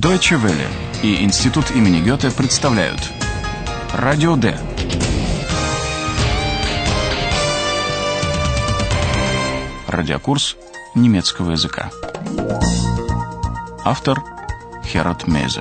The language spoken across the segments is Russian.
Deutsche Welle и Институт имени Гёте представляют Радио Д. Радиокурс немецкого языка. Автор Херат Мейзе.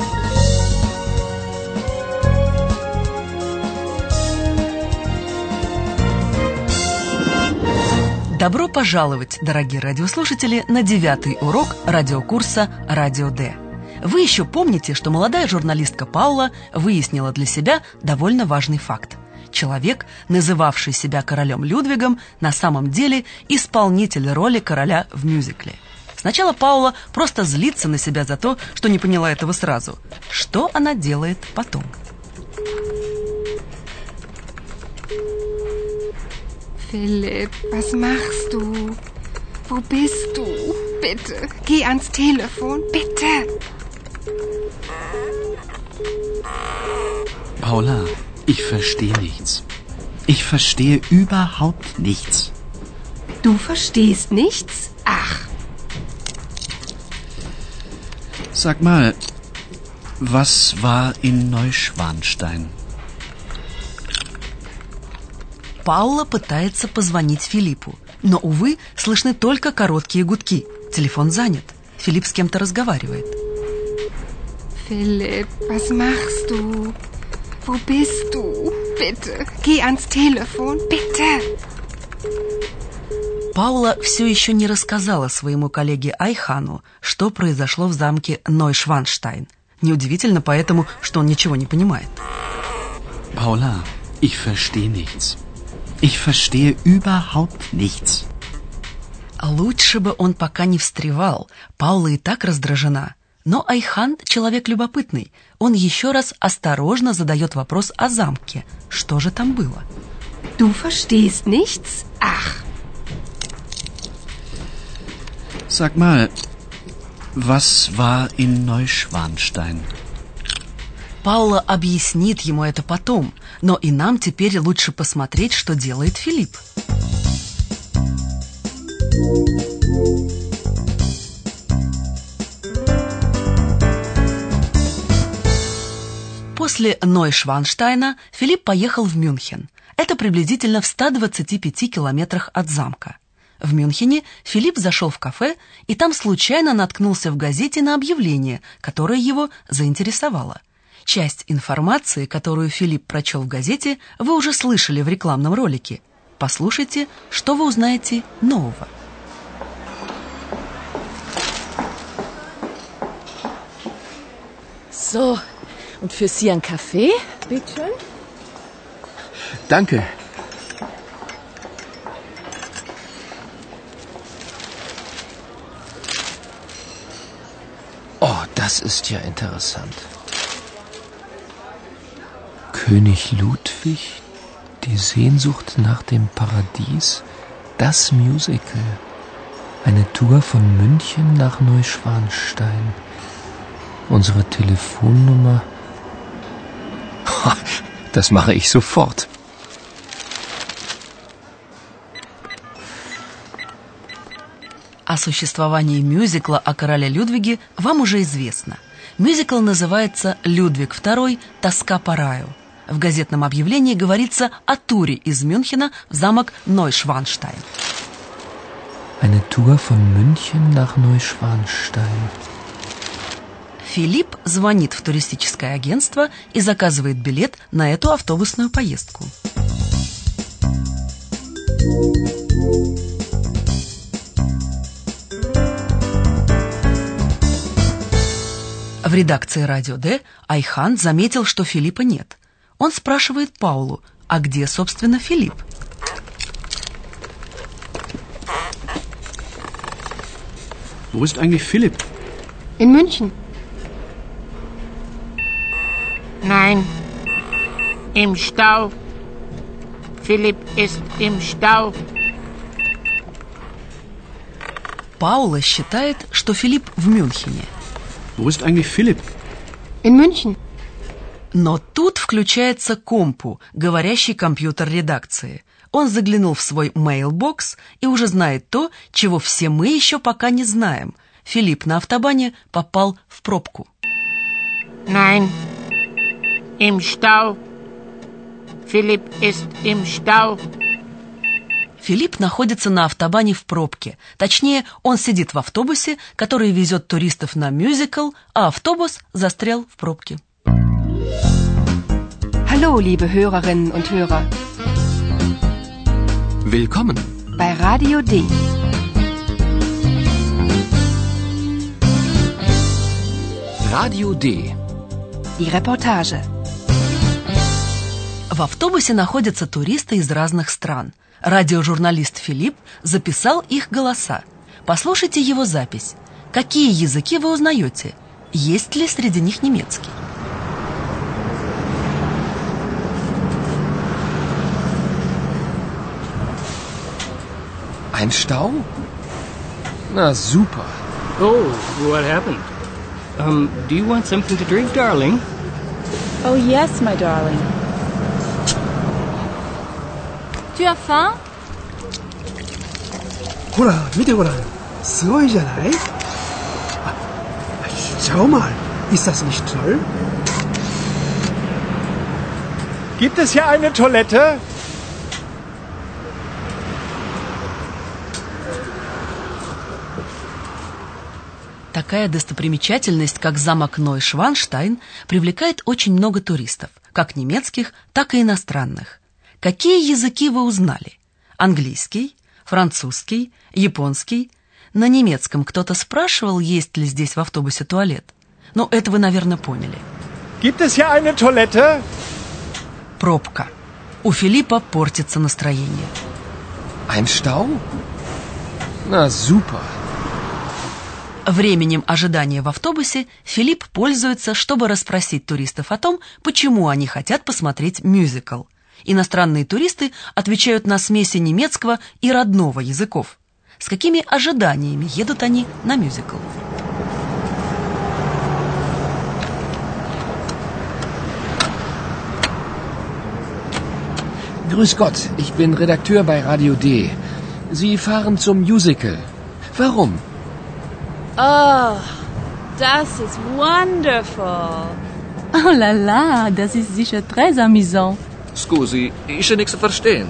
Добро пожаловать, дорогие радиослушатели, на 9-й урок радиокурса «Радио Д». Вы еще помните, что молодая журналистка Паула выяснила для себя довольно важный факт. Человек, называвший себя королем Людвигом, на самом деле исполнитель роли короля в мюзикле. Сначала Паула просто злится на себя за то, что не поняла этого сразу. Что она делает потом? Philipp, was machst du? Wo bist du? Bitte, geh ans Telefon, bitte. Paula, ich verstehe nichts. Ich verstehe überhaupt nichts. Du verstehst nichts? Ach. Sag mal, was war in Neuschwanstein? Паула пытается позвонить Филиппу, но, увы, слышны только короткие гудки. Телефон занят. Филипп с кем-то разговаривает. Philipp, was machst du? Wo bist du? Bitte, geh ans Telefon, bitte. Паула все еще не рассказала своему коллеге Айхану, что произошло в замке Нойшванштайн. Неудивительно поэтому, что он ничего не понимает. Paula, ich verstehe nichts. Ich verstehe überhaupt nichts. Лучше бы он пока не встревал. Паула и так раздражена. Но Айхан человек любопытный. Он еще раз осторожно задает вопрос о замке. Что же там было? Du verstehst nichts? Ach. Sag mal, was war in Neuschwanstein? Паула объяснит ему это потом, но и нам теперь лучше посмотреть, что делает Филипп. После Нойшванштайна Филипп поехал в Мюнхен. Это приблизительно в 125 километрах от замка. В Мюнхене Филипп зашел в кафе и там случайно наткнулся в газете на объявление, которое его заинтересовало. Часть информации, которую Филипп прочел в газете, вы уже слышали в рекламном ролике. Послушайте, что вы узнаете нового. So, und für Sie ein Kaffee, bitte schön. Danke. Oh, das ist ja interessant. König Ludwig, die Sehnsucht nach dem Paradies, das Musical. Eine Tour von München nach Neuschwanstein. Unsere Telefonnummer. Das mache ich sofort. О существовании мюзикла о короле Людвиге вам уже известно. Мюзикл называется «Людвиг II. Тоска по раю». В газетном объявлении говорится о туре из Мюнхена в замок Нойшванштайн. Eine Tour von München nach Neuschwanstein. Филипп звонит в туристическое агентство и заказывает билет на эту автобусную поездку. В редакции «Радио Д» Айхан заметил, что Филиппа нет. Он спрашивает Паулу, а где, собственно, Филипп? Wo ist eigentlich Philipp? In München. Nein, im Stau. Philipp ist im Stau. Паула считает, что Филипп в Мюнхене. Wo ist eigentlich Philipp? In München. Но тут включается компу, говорящий компьютер редакции. Он заглянул в свой мейлбокс и уже знает то, чего все мы еще пока не знаем. Филипп на автобане попал в пробку. Nein. Im Stau. Philipp ist im Stau. Филипп находится на автобане в пробке. Точнее, он сидит в автобусе, который везет туристов на мюзикл, а автобус застрял в пробке. Hallo, liebe Hörerinnen und Hörer. Willkommen Bei Radio D. Radio D. Die Reportage. В автобусе находятся туристы из разных стран. Радиожурналист Филипп записал их голоса. Послушайте его запись. Какие языки вы узнаете? Есть ли среди них немецкий? Ein Stau? Na super. Oh, what happened? Do you want something to drink, darling? Oh yes, my darling. Tu as faim? ほら見てごらんすごいじゃないあ Schau mal ist das nicht toll Gibt es hier eine Toilette? Такая достопримечательность, как замок Нойшванштайн, привлекает очень много туристов, как немецких, так и иностранных. Какие языки вы узнали? Английский, французский, японский. На немецком кто-то спрашивал, есть ли здесь в автобусе туалет. Но это вы, наверное, поняли. Gibt es hier eine Toilette? Пробка. У Филиппа портится настроение. Ein Stau? Na super. Временем ожидания в автобусе Филипп пользуется, чтобы расспросить туристов о том, почему они хотят посмотреть мюзикл. Иностранные туристы отвечают на смеси немецкого и родного языков. С какими ожиданиями едут они на мюзикл? Grüß Gott, ich bin Redakteur bei Radio D. Sie fahren zum Musical. Warum? Oh, das ist wonderful. Oh la la, das ist sicher très amusant. Scusi, ich kann nichts verstehen.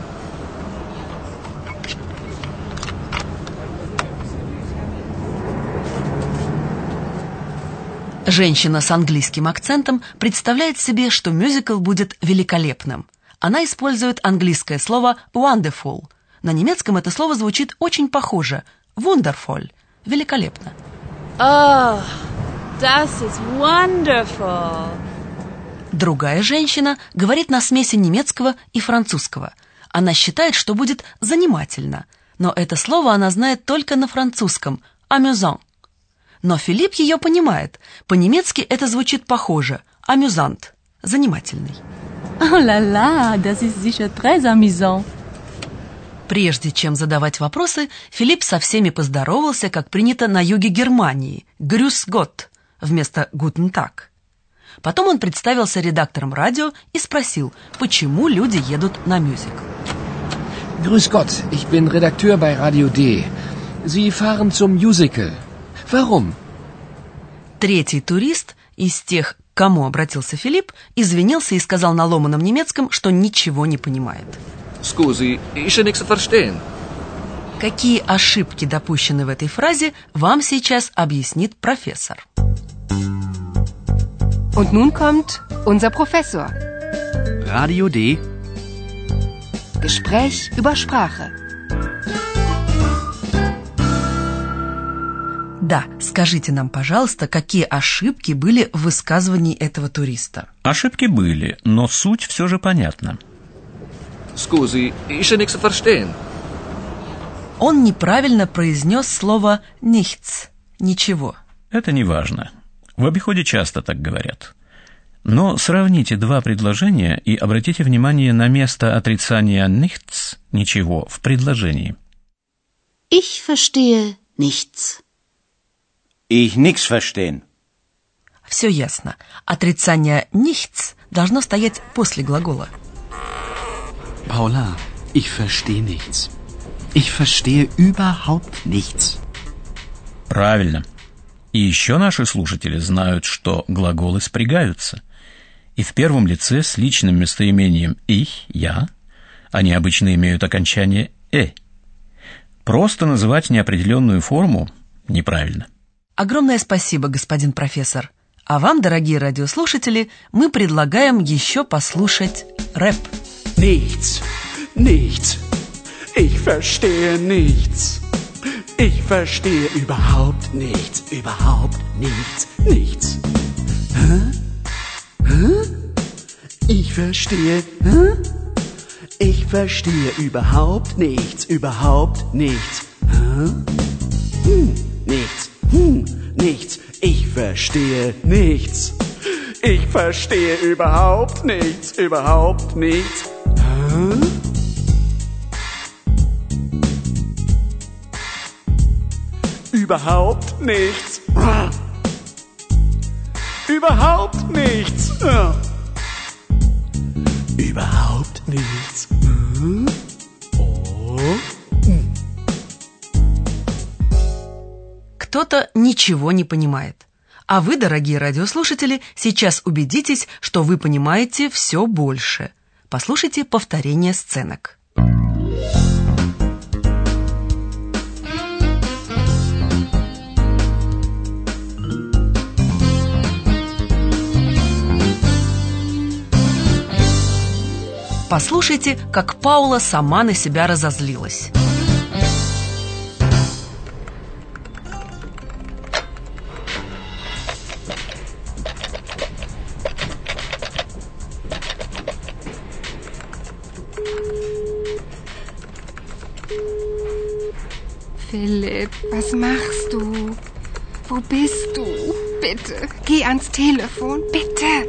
Женщина с английским акцентом представляет себе, что мюзикл будет великолепным. Она использует английское слово wonderful. На немецком это слово звучит очень похоже. Wonderful. Великолепно. Oh, das ist wonderful. Другая женщина говорит на смеси немецкого и французского. Она считает, что будет занимательно. Но это слово она знает только на французском. Amusant. Но Филипп ее понимает. По-немецки это звучит похоже. Amusant. Занимательный. Oh la la, das ist sicher très amusant. Прежде чем задавать вопросы, Филипп со всеми поздоровался, как принято на юге Германии. Grüß Gott вместо Guten Tag. Потом он представился редактором радио и спросил, почему люди едут на мюзикл. Grüß Gott, ich bin Redakteur bei Radio D. Sie fahren zum Musical. Warum? Третий турист из тех, к кому обратился Филипп, извинился и сказал на ломаном немецком, что ничего не понимает. Scusi, ich kann nichts verstehen. Какие ошибки допущены в этой фразе, вам сейчас объяснит профессор. Und nun kommt unser Professor. Radio D. Gespräch über Sprache. Да, скажите нам, пожалуйста, какие ошибки были в высказывании этого туриста? Ошибки были, но суть все же понятна. Scusi, ich kann nichts verstehen. Он неправильно произнес слово nichts, ничего. Это не важно. В обиходе часто так говорят. Но сравните два предложения и обратите внимание на место отрицания nichts, ничего, в предложении. Ich verstehe nichts. Ich nix verstehen. Все ясно. Отрицание nichts должно стоять после глагола. Paula, ich verstehe nichts. Ich verstehe überhaupt nichts. Правильно. И еще наши слушатели знают, что глаголы спрягаются. И в первом лице с личным местоимением «ich», «я», они обычно имеют окончание «э». Просто называть неопределенную форму неправильно. Огромное спасибо, господин профессор. А вам, дорогие радиослушатели, мы предлагаем еще послушать рэп. Nichts, nichts, ich verstehe nichts. Ich verstehe überhaupt nichts, nichts. Hä? Hä? Ich verstehe, hä? Ich verstehe überhaupt nichts, Hä? Nichts, ich verstehe nichts. Ich verstehe überhaupt nichts, Hä? Überhaupt nichts. Überhaupt nichts. Überhaupt nichts. Кто-то ничего не понимает. А вы, дорогие радиослушатели, сейчас убедитесь, что вы понимаете все больше. Послушайте повторение сценок. Послушайте, как Паула сама на себя разозлилась. Philipp, was machst du? Wo bist du? Bitte, geh ans Telefon, bitte.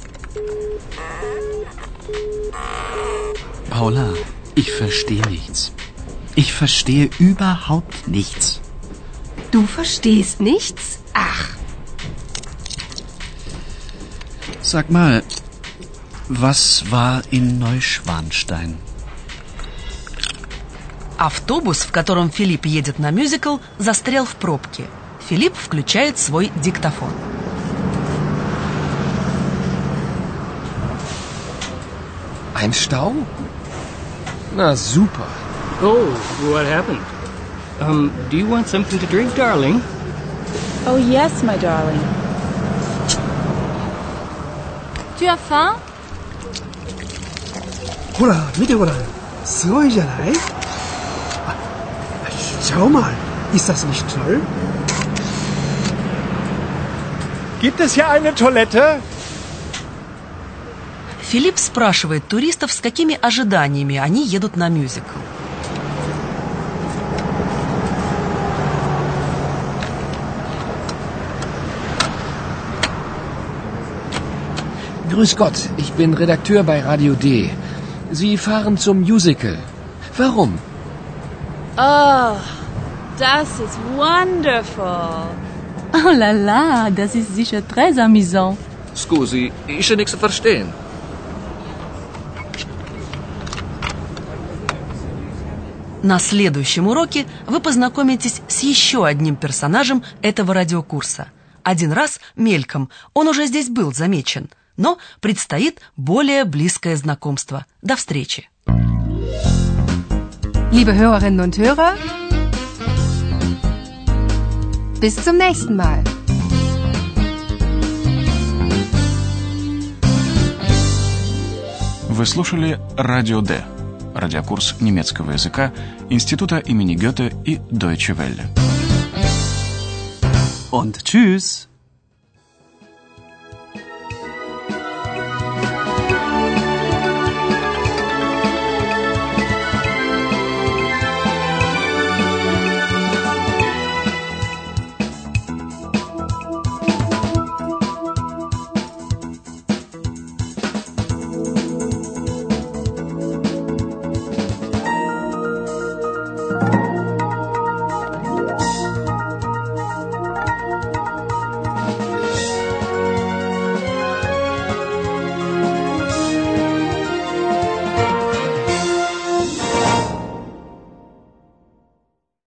Paula, ich verstehe nichts. Ich verstehe überhaupt nichts. Du verstehst nichts? Ach. Sag mal, was war in Neuschwanstein? Автобус, в котором Филипп едет на мюзикл, застрял в пробке. Филипп включает свой диктофон. Ein Stau? Na super. Oh, what happened? Do you want something to drink, darling? Oh yes, my darling. Tu as faim? ほら、見てごらん。すごいじゃない？あ、schau mal. Ist das nicht toll? Gibt es hier eine Toilette? Филипп спрашивает туристов, с какими ожиданиями они едут на мюзикл. Grüß Gott, ich bin Redakteur bei Radio D. Sie fahren zum Musical. Warum? Oh, das ist wonderful. Oh la la, das ist sicher très amusant. Scusi, ich kann nichts verstehen. На следующем уроке вы познакомитесь с еще одним персонажем этого радиокурса. Один раз мельком, он уже здесь был замечен, но предстоит более близкое знакомство. До встречи! Liebe Hörerinnen und Hörer, bis zum nächsten Mal. Вы слушали Радио Д, радиокурс немецкого языка Института имени Гёте и Deutsche Welle. Und tschüss!